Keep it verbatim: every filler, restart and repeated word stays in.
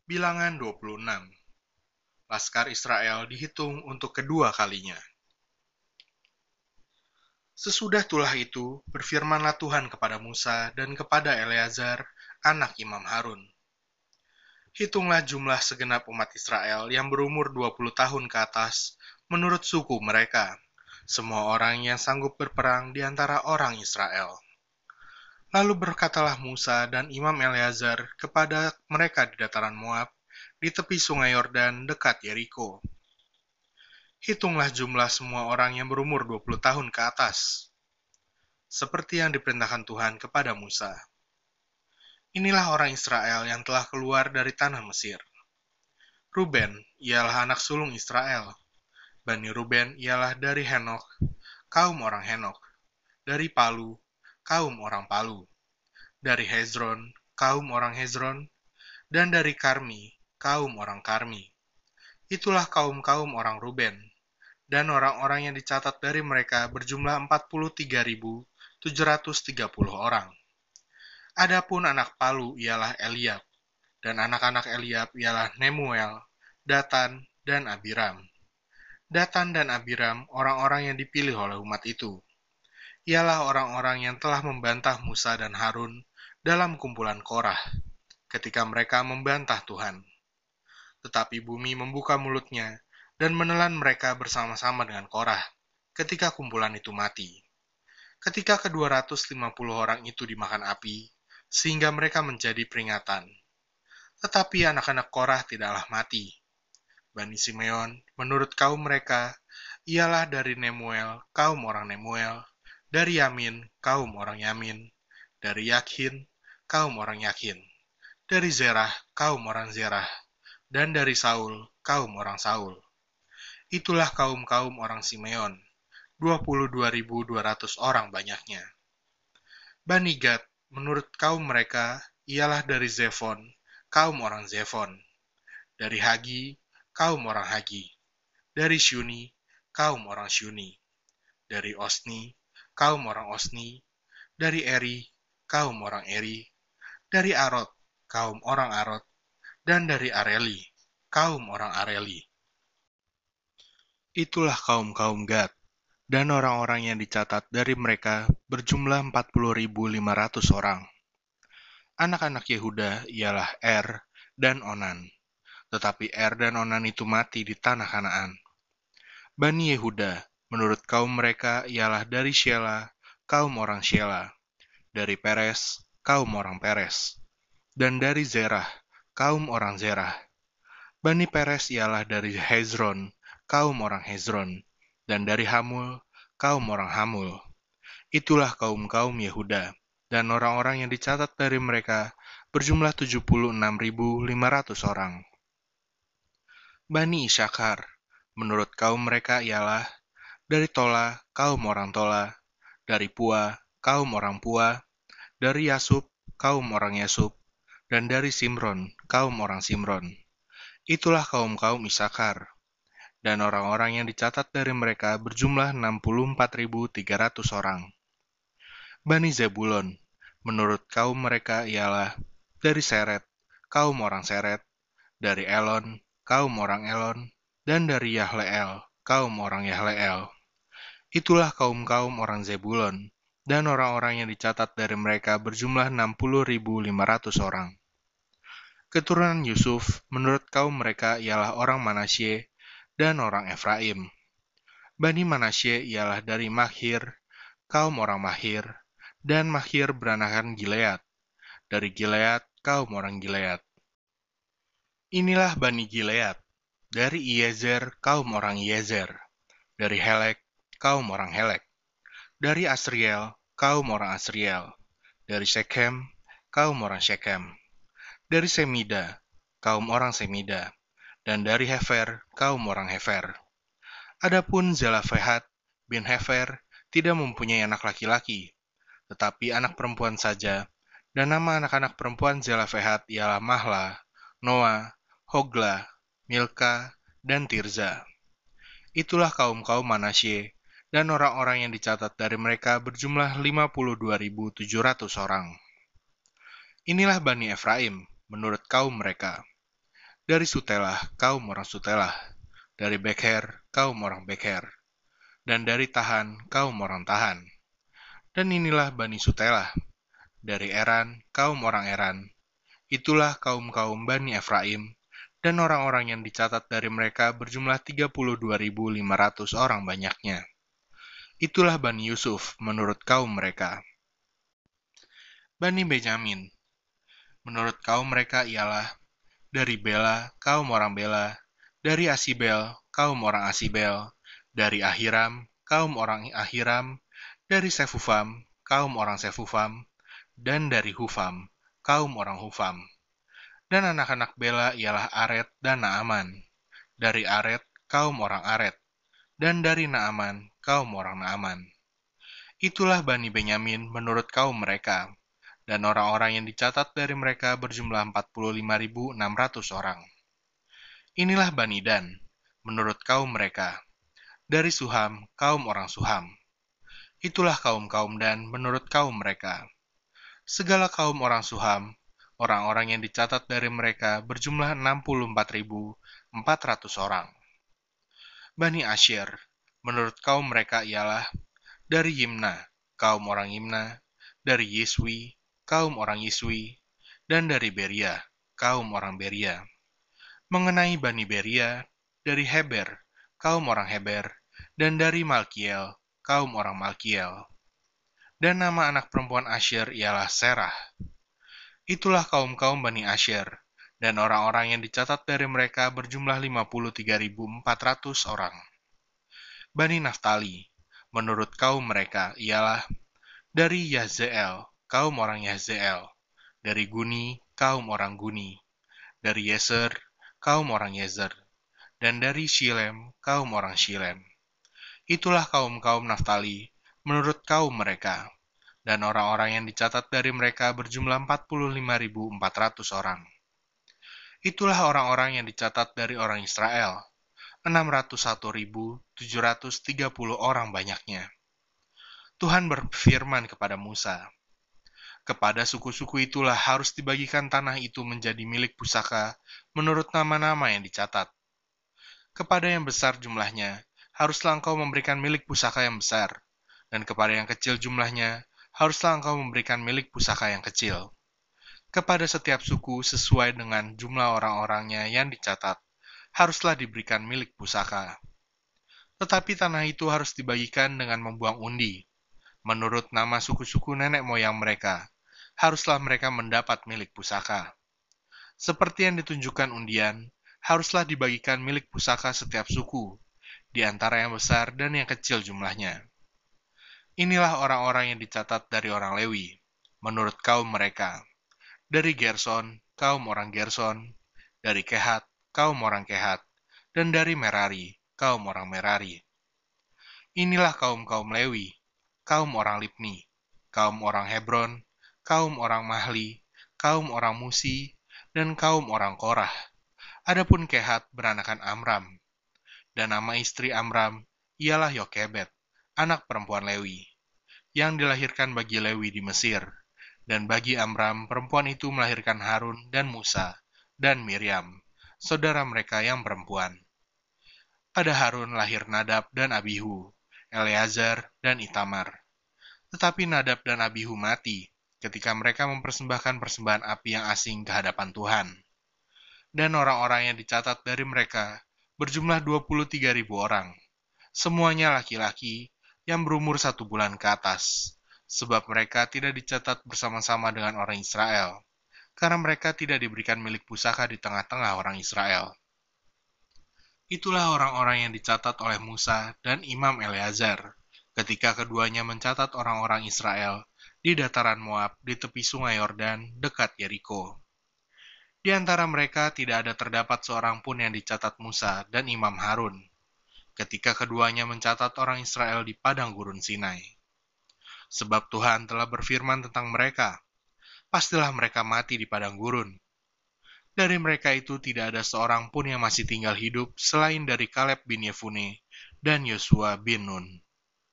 Bilangan dua puluh enam. Laskar Israel dihitung untuk kedua kalinya. Sesudah tulah itu, berfirmanlah Tuhan kepada Musa dan kepada Eleazar, anak Imam Harun. Hitunglah jumlah segenap umat Israel yang berumur dua puluh tahun ke atas, menurut suku mereka, semua orang yang sanggup berperang di antara orang Israel. Lalu berkatalah Musa dan Imam Eleazar kepada mereka di dataran Moab, di tepi sungai Yordan dekat Yeriko. Hitunglah jumlah semua orang yang berumur dua puluh tahun ke atas, seperti yang diperintahkan Tuhan kepada Musa. Inilah orang Israel yang telah keluar dari tanah Mesir. Ruben ialah anak sulung Israel. Bani Ruben ialah dari Henok, kaum orang Henok. Dari Palu, kaum orang Palu. Dari Hezron, kaum orang Hezron. Dan dari Karmi, kaum orang Karmi. Itulah kaum-kaum orang Ruben. Dan orang-orang yang dicatat dari mereka berjumlah empat puluh tiga ribu tujuh ratus tiga puluh orang. Adapun anak Palu ialah Eliab, dan anak-anak Eliab ialah Nemuel, Datan, dan Abiram. Datan dan Abiram orang-orang yang dipilih oleh umat itu. Ialah orang-orang yang telah membantah Musa dan Harun dalam kumpulan Korah, ketika mereka membantah Tuhan. Tetapi bumi membuka mulutnya dan menelan mereka bersama-sama dengan Korah, ketika kumpulan itu mati. Ketika kedua ratus lima puluh orang itu dimakan api, sehingga mereka menjadi peringatan. Tetapi anak-anak Korah tidaklah mati. Bani Simeon, menurut kaum mereka, ialah dari Nemuel, kaum orang Nemuel, dari Yamin, kaum orang Yamin, dari Yakhin, kaum orang Yakhin, dari Zerah, kaum orang Zerah, dan dari Saul, kaum orang Saul. Itulah kaum-kaum orang Simeon, dua puluh dua ribu dua ratus orang banyaknya. Bani Gad, menurut kaum mereka, ialah dari Zefon, kaum orang Zefon, dari Hagi, kaum orang Hagi, dari Syuni, kaum orang Syuni, dari Osni, kaum orang Osni, dari Eri, kaum orang Eri, dari Arod, kaum orang Arod, dan dari Areli, kaum orang Areli. Itulah kaum-kaum Gad, dan orang-orang yang dicatat dari mereka berjumlah empat puluh ribu lima ratus orang. Anak-anak Yehuda ialah Er dan Onan, tetapi Er dan Onan itu mati di tanah Kanaan. Bani Yehuda, menurut kaum mereka ialah dari Shela, kaum orang Shela, dari Peres, kaum orang Peres, dan dari Zerah, kaum orang Zerah. Bani Peres ialah dari Hezron, kaum orang Hezron, dan dari Hamul, kaum orang Hamul. Itulah kaum-kaum Yehuda, dan orang-orang yang dicatat dari mereka berjumlah tujuh puluh enam ribu lima ratus orang. Bani Isakar, menurut kaum mereka ialah dari Tola, kaum orang Tola, dari Pua, kaum orang Pua, dari Yasub, kaum orang Yasub, dan dari Simron, kaum orang Simron. Itulah kaum-kaum Isakar, dan orang-orang yang dicatat dari mereka berjumlah enam puluh empat ribu tiga ratus orang. Bani Zebulon, menurut kaum mereka ialah dari Seret, kaum orang Seret, dari Elon, kaum orang Elon, dan dari Yahleel, kaum orang Yahleel. Itulah kaum-kaum orang Zebulon, dan orang-orang yang dicatat dari mereka berjumlah enam puluh ribu lima ratus orang. Keturunan Yusuf, menurut kaum mereka ialah orang Manasye dan orang Efraim. Bani Manasye ialah dari Mahir, kaum orang Mahir, dan Mahir beranakan Gilead. Dari Gilead, kaum orang Gilead. Inilah Bani Gilead, dari Iezer, kaum orang Iezer. Dari Helek, kaum orang Helek. Dari Asriel, kaum orang Asriel. Dari Shechem, kaum orang Shechem. Dari Semida, kaum orang Semida. Dan dari Hefer, kaum orang Hefer. Adapun Zelafehat bin Hefer tidak mempunyai anak laki-laki, tetapi anak perempuan saja, dan nama anak-anak perempuan Zelafehat ialah Mahla, Noah, Hogla, Milka, dan Tirza. Itulah kaum-kaum Manasye, dan orang-orang yang dicatat dari mereka berjumlah lima puluh dua ribu tujuh ratus orang. Inilah Bani Efraim, menurut kaum mereka. Dari Sutelah, kaum orang Sutelah. Dari Bekher, kaum orang Bekher. Dan dari Tahan, kaum orang Tahan. Dan inilah Bani Sutelah. Dari Eran, kaum orang Eran. Itulah kaum-kaum Bani Efraim, dan orang-orang yang dicatat dari mereka berjumlah tiga puluh dua ribu lima ratus orang banyaknya. Itulah Bani Yusuf menurut kaum mereka. Bani Benyamin, menurut kaum mereka ialah dari Bela, kaum orang Bela, dari Asibel, kaum orang Asibel, dari Ahiram, kaum orang Ahiram, dari Sefufam, kaum orang Sefufam, dan dari Hufam, kaum orang Hufam. Dan anak-anak Bela ialah Aret dan Naaman. Dari Aret, kaum orang Aret. Dan dari Naaman, kaum orang Naaman. Itulah Bani Benyamin menurut kaum mereka. Dan orang-orang yang dicatat dari mereka berjumlah empat puluh lima ribu enam ratus orang. Inilah Bani Dan, menurut kaum mereka. Dari Suham, kaum orang Suham. Itulah kaum-kaum Dan menurut kaum mereka. Segala kaum orang Suham, orang-orang yang dicatat dari mereka berjumlah enam puluh empat ribu empat ratus orang. Bani Asyir, menurut kaum mereka ialah dari Yimna, kaum orang Yimna, dari Yiswi, kaum orang Yiswi, dan dari Beria, kaum orang Beria. Mengenai Bani Beria, dari Heber, kaum orang Heber, dan dari Malkiel, kaum orang Malkiel. Dan nama anak perempuan Asyir ialah Serah. Itulah kaum-kaum Bani Asyir, dan orang-orang yang dicatat dari mereka berjumlah lima puluh tiga ribu empat ratus orang. Bani Naftali, menurut kaum mereka, ialah dari Yahzeel, kaum orang Yahzeel, dari Guni, kaum orang Guni, dari Yeser, kaum orang Yezer, dan dari Shilem, kaum orang Shilem. Itulah kaum-kaum Naftali, menurut kaum mereka, dan orang-orang yang dicatat dari mereka berjumlah empat puluh lima ribu empat ratus orang. Itulah orang-orang yang dicatat dari orang Israel, enam ratus satu ribu tujuh ratus tiga puluh orang banyaknya. Tuhan berfirman kepada Musa, kepada suku-suku itulah harus dibagikan tanah itu menjadi milik pusaka menurut nama-nama yang dicatat. Kepada yang besar jumlahnya, haruslah engkau memberikan milik pusaka yang besar, dan kepada yang kecil jumlahnya, haruslah engkau memberikan milik pusaka yang kecil. Kepada setiap suku sesuai dengan jumlah orang-orangnya yang dicatat, haruslah diberikan milik pusaka. Tetapi tanah itu harus dibagikan dengan membuang undi. Menurut nama suku-suku nenek moyang mereka, haruslah mereka mendapat milik pusaka. Seperti yang ditunjukkan undian, haruslah dibagikan milik pusaka setiap suku, di antara yang besar dan yang kecil jumlahnya. Inilah orang-orang yang dicatat dari orang Lewi, menurut kaum mereka. Dari Gerson, kaum orang Gerson, dari Kehat, kaum orang Kehat, dan dari Merari, kaum orang Merari. Inilah kaum-kaum Lewi, kaum orang Libni, kaum orang Hebron, kaum orang Mahli, kaum orang Musi, dan kaum orang Korah. Adapun Kehat beranakan Amram, dan nama istri Amram ialah Yokebed, anak perempuan Lewi, yang dilahirkan bagi Lewi di Mesir, dan bagi Amram perempuan itu melahirkan Harun dan Musa, dan Miriam, saudara mereka yang perempuan. Pada Harun lahir Nadab dan Abihu, Eleazar dan Itamar. Tetapi Nadab dan Abihu mati ketika mereka mempersembahkan persembahan api yang asing ke hadapan Tuhan. Dan orang-orang yang dicatat dari mereka berjumlah dua puluh tiga ribu orang, semuanya laki-laki yang berumur satu bulan ke atas, sebab mereka tidak dicatat bersama-sama dengan orang Israel, karena mereka tidak diberikan milik pusaka di tengah-tengah orang Israel. Itulah orang-orang yang dicatat oleh Musa dan Imam Eleazar, ketika keduanya mencatat orang-orang Israel di dataran Moab di tepi sungai Yordan dekat Yeriko. Di antara mereka tidak ada terdapat seorang pun yang dicatat Musa dan Imam Harun, ketika keduanya mencatat orang Israel di padang gurun Sinai. Sebab Tuhan telah berfirman tentang mereka, pastilah mereka mati di padang gurun. Dari mereka itu tidak ada seorang pun yang masih tinggal hidup selain dari Kaleb bin Yefune dan Yosua bin Nun.